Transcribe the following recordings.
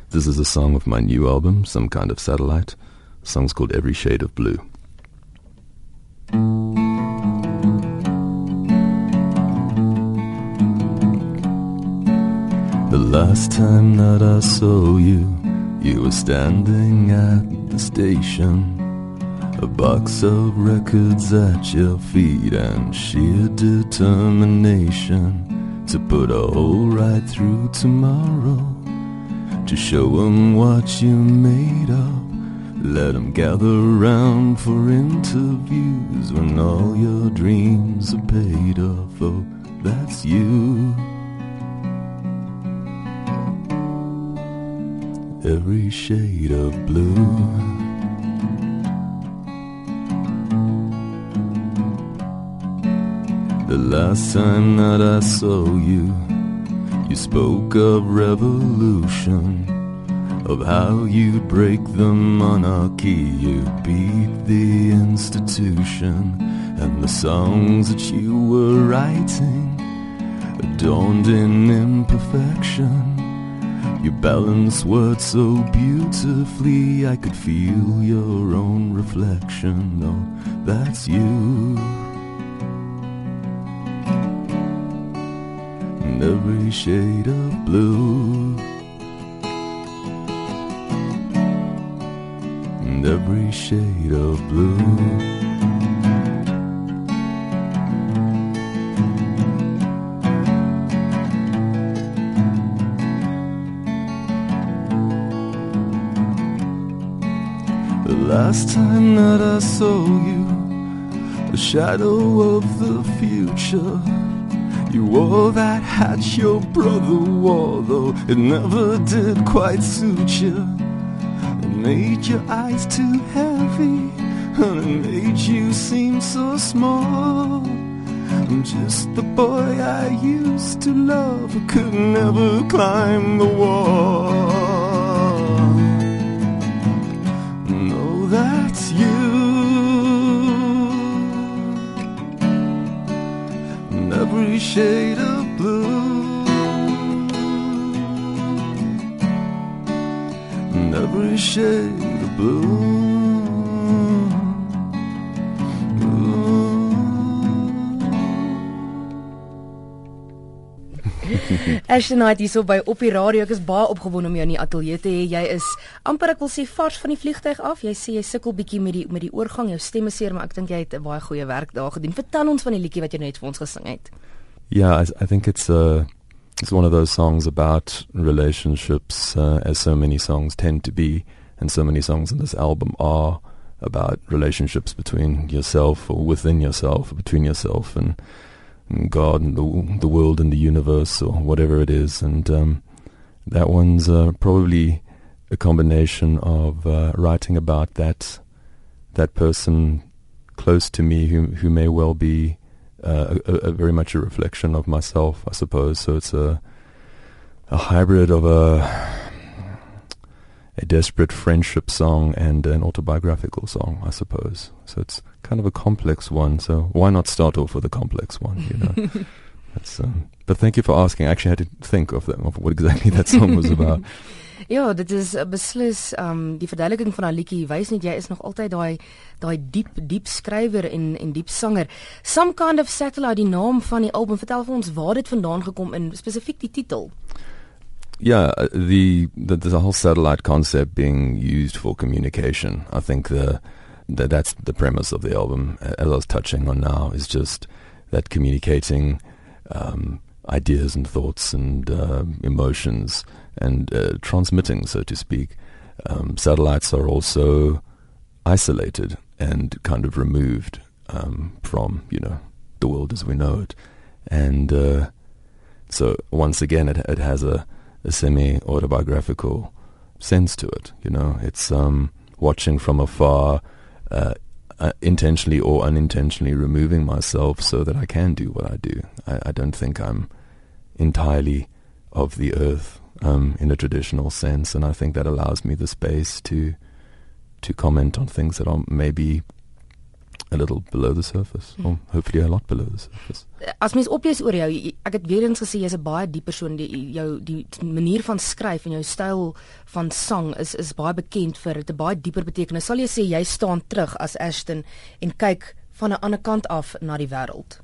This is a song of my new album, Some Kind of Satellite. The song's called Every Shade of Blue. The last time that I saw you, you were standing at the station. A box of records at your feet and sheer determination to put a hole right through tomorrow, to show 'em what you're made of. Let 'em gather round for interviews when all your dreams are paid off. Oh, that's you. Every shade of blue. The last time that I saw you, you spoke of revolution, of how you'd break the monarchy, you'd beat the institution, and the songs that you were writing, adorned in imperfection. You balance words so beautifully, I could feel your own reflection. Oh, that's you. And every shade of blue, and every shade of blue. The last time that I saw you, a shadow of the future. You wore that hat your brother wore, though it never did quite suit you. It made your eyes too heavy, and it made you seem so small. I'm just the boy I used to love, who could never climb the wall. No, that's you. And every shade of blue, and every shade of blue. Ashton Knight hier so by op die radio. Ek is baie opgewonde om jou in die ateljee te hê. Jy is amper, ek wil sê, vars van die vliegtuig af. Jy sê jy sukkel bietjie met die oorgang, jou stem is seer, maar ek dink jy het 'n baie goeie werk daar gedoen. Vertel ons van die liedjie wat jy net vir ons gesing het. Yeah, I think it's one of those songs about relationships, as so many songs tend to be, and so many songs in this album are about relationships between yourself or within yourself, or between yourself and God and the world and the universe or whatever it is. And that one's probably a combination of writing about that person close to me who may well be a very much a reflection of myself, I suppose. So it's a hybrid of a desperate friendship song and an autobiographical song, I suppose. So it's kind of a complex one. So why not start off with a complex one, you know? That's, but thank you for asking. I actually had to think of what exactly that song was about. Ja, dit is beslis die verduideliking van 'n liedjie wys net jy is nog altyd daai diep skrywer en diep sanger. Some Kind of Satellite, die naam van die album. Vertel vir ons waar dit vandaan gekom en spesifiek die titel. Yeah, there's a whole satellite concept being used for communication. I think that's the premise of the album, as I was touching on now, is just that communicating ideas and thoughts and emotions and transmitting, so to speak. Satellites are also isolated and kind of removed from, the world as we know it. And so once again, it has a semi-autobiographical sense to it. It's watching from afar, intentionally or unintentionally removing myself so that I can do what I do. I don't think I'm entirely of the earth in a traditional sense, and I think that allows me the space to comment on things that are maybe A little below the surface, or hopefully a lot below the surface. As mens oplees oor jou, ek het weer eens gesê jy's 'n baie diep persoon, die manier van skryf en jou styl van sang is baie bekend vir 'n baie dieper betekenis. Sal jy sê jy staan terug as Ashton en kyk van 'n ander kant af na die wêreld?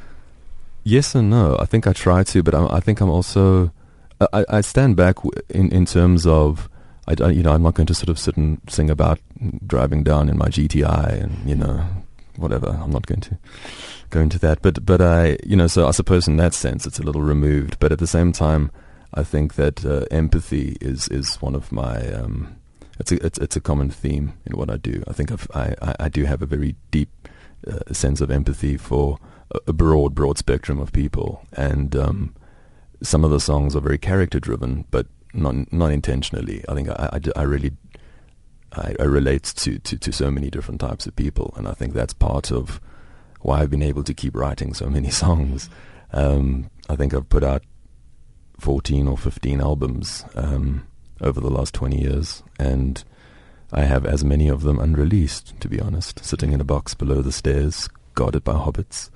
Yes and no. I think I try to, but I think I'm also I stand back in terms of I'm not going to sort of sit and sing about driving down in my GTI and whatever. I'm not going to go into that, but I so I suppose in that sense it's a little removed, but at the same time I think that empathy is one of my it's a common theme in what I do. I think I do have a very deep sense of empathy for a broad spectrum of people, and some of the songs are very character driven, but not intentionally. I think I really relate to so many different types of people, and I think that's part of why I've been able to keep writing so many songs. I think I've put out 14 or 15 albums over the last 20 years, and I have as many of them unreleased, to be honest, sitting in a box below the stairs, guarded by hobbits.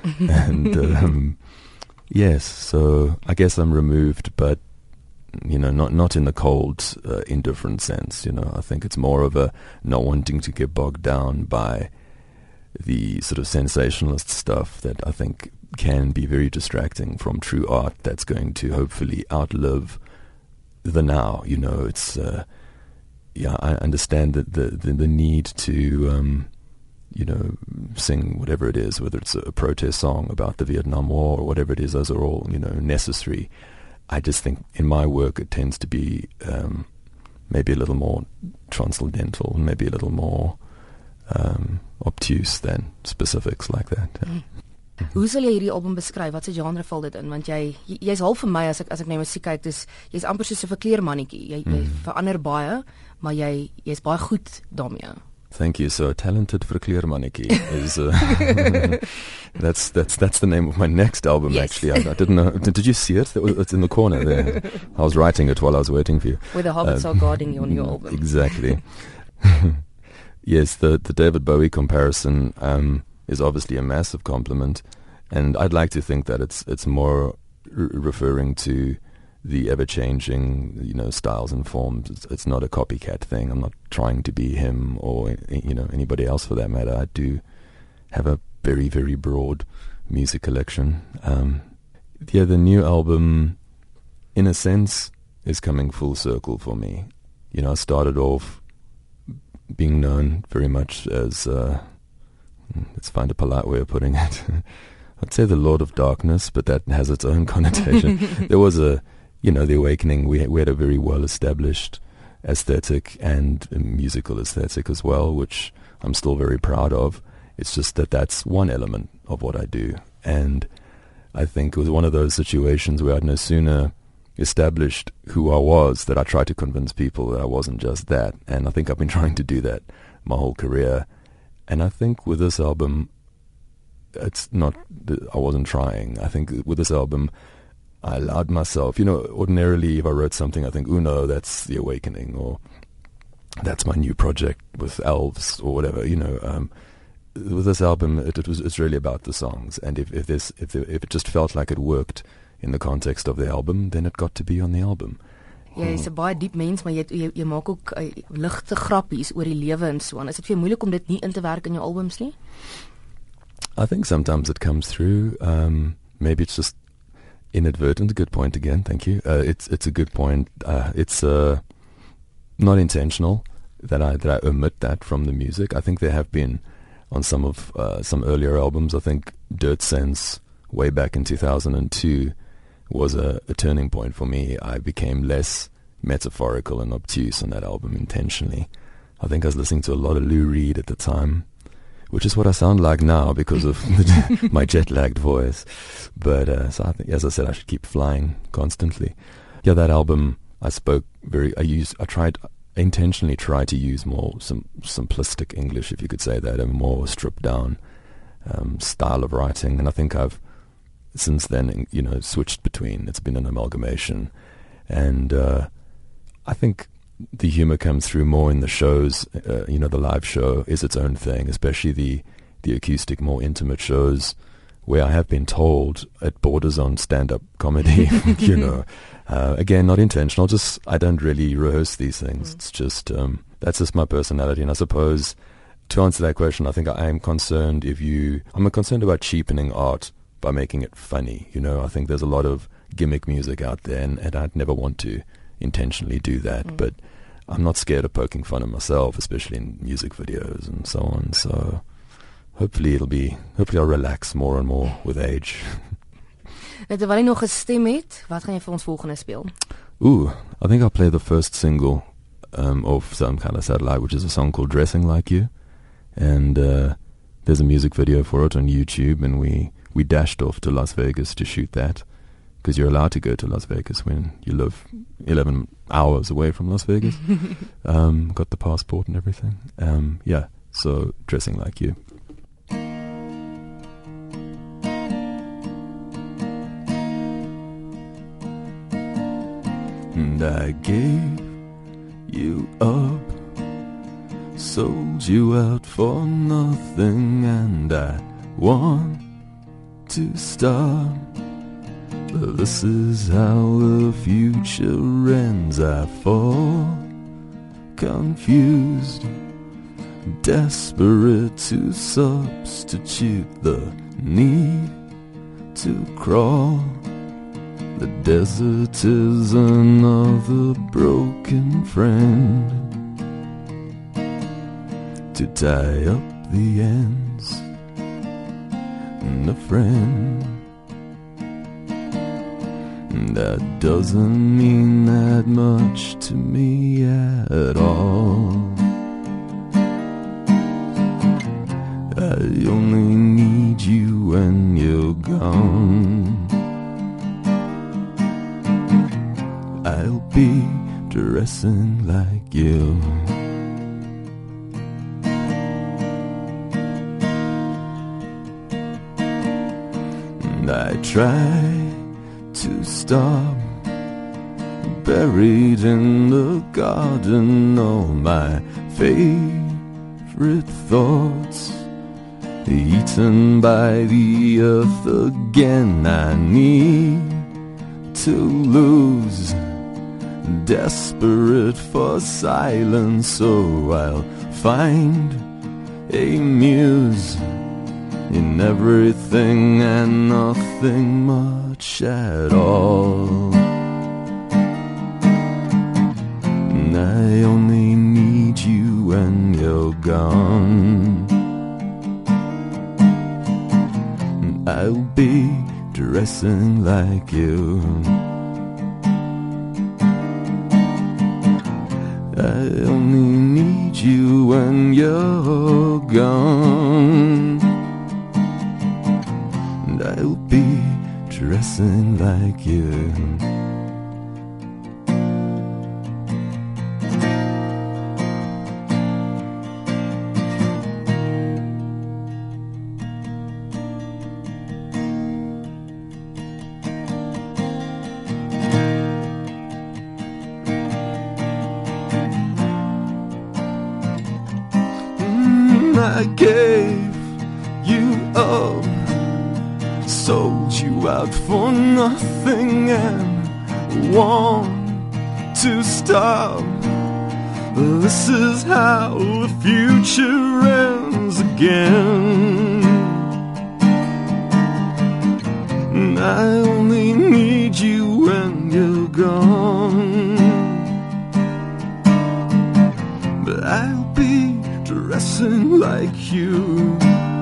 And yes, so I guess I'm removed, but not in the cold, indifferent sense. I think it's more of a not wanting to get bogged down by the sort of sensationalist stuff that I think can be very distracting from true art that's going to hopefully outlive the now. It's I understand that the need to sing whatever it is, whether it's a protest song about the Vietnam War or whatever it is, those are all necessary. I just think in my work it tends to be maybe a little more transcendental, maybe a little more obtuse than specifics like that. Yeah. Hoe sal jy hierdie album beskryf? Wat se genre val dit in? Want jy's half vir my as ek na musiek kyk, jy's amper soos 'n verkleermannetjie. Jy verander baie, maar jy's baie goed daarmee. Thank you. So, talented verkleermannetjie is that's the name of my next album. Yes. Actually, I didn't know. Did you see it? It's in the corner there. I was writing it while I was waiting for you. Where the hobbits are guarding you on your album. Exactly. Yes, the David Bowie comparison is obviously a massive compliment, and I'd like to think that it's more referring to the ever-changing, styles and forms. It's not a copycat thing. I'm not trying to be him or anybody else for that matter. I do have a very, very broad music collection. The new album, in a sense, is coming full circle for me. I started off being known very much as, let's find a polite way of putting it. I'd say the Lord of Darkness, but that has its own connotation. There was the Awakening. We had a very well-established aesthetic and musical aesthetic as well, which I'm still very proud of. It's just that that's one element of what I do. And I think it was one of those situations where I'd no sooner established who I was that I tried to convince people that I wasn't just that. And I think I've been trying to do that my whole career. And I think with this album, it's not that I wasn't trying. I think with this album, I allowed myself, ordinarily if I wrote something, I think, oh no, that's The Awakening, or that's my new project with elves, or whatever, With this album, it's really about the songs. And if it just felt like it worked in the context of the album, then it got to be on the album. Jy's 'n baie diep mens, maar jy maak ook ligte grappies oor die lewe en so aan. Is dit vir jou moeilik om dit nie in te werk in jou albums nie? I think sometimes it comes through. Maybe it's just inadvertent. Good point again. Thank you. It's a good point. It's not intentional that I omit that from the music. I think there have been on some earlier albums. I think Dirt Sense way back in 2002 was a turning point for me. I became less metaphorical and obtuse on that album intentionally. I think I was listening to a lot of Lou Reed at the time, which is what I sound like now because of my jet-lagged voice. But so I think, as I said, I should keep flying constantly. Yeah, that album I intentionally tried to use more simplistic English, if you could say that, a more stripped down style of writing. And I think I've since then, switched between. It's been an amalgamation. And I think the humor comes through more in the shows. The live show is its own thing, especially the the acoustic, more intimate shows where I have been told it borders on stand-up comedy, you know. Again, not intentional, just I don't really rehearse these things. It's just, that's just my personality. And I suppose to answer that question, I think I am concerned I'm concerned about cheapening art by making it funny. You know, I think there's a lot of gimmick music out there, and I'd never want to intentionally do that. But I'm not scared of poking fun at myself, especially in music videos and so on. So hopefully I'll relax more and more with age. Net terwyl jy nog gestem het, wat gaan jy vir ons volgende speel? Ooh, I think I'll play the first single of Some Kind of Satellite, which is a song called Dressing Like You. And there's a music video for it on YouTube, and we dashed off to Las Vegas to shoot that, because you're allowed to go to Las Vegas when you live 11 hours away from Las Vegas. Got the passport and everything. Yeah, so Dressing Like You. And I gave you up, sold you out for nothing, and I want to stop, but this is how the future ends. I fall confused, desperate to substitute the need to crawl. The desert is another broken friend to tie up the ends, and a friend that doesn't mean that much to me at all. I only need you when you're gone. I'll be dressing like you. And I try to stop, buried in the garden, all my favorite thoughts, eaten by the earth again. I need to lose, desperate for silence, so I'll find a muse in everything and nothing much at all. And I only need you when you're gone. And I'll be dressing like you. I only need you when you're gone. And I'll be dressing like you. I gave you up, sold you out for nothing, and want to stop. This is how the future ends again. And I only need you when you're gone. But I'll be dressing like you.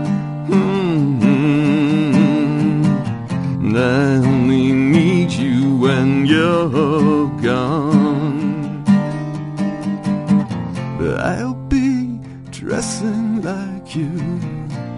And I only need you when you're gone. But I'll be dressing like you.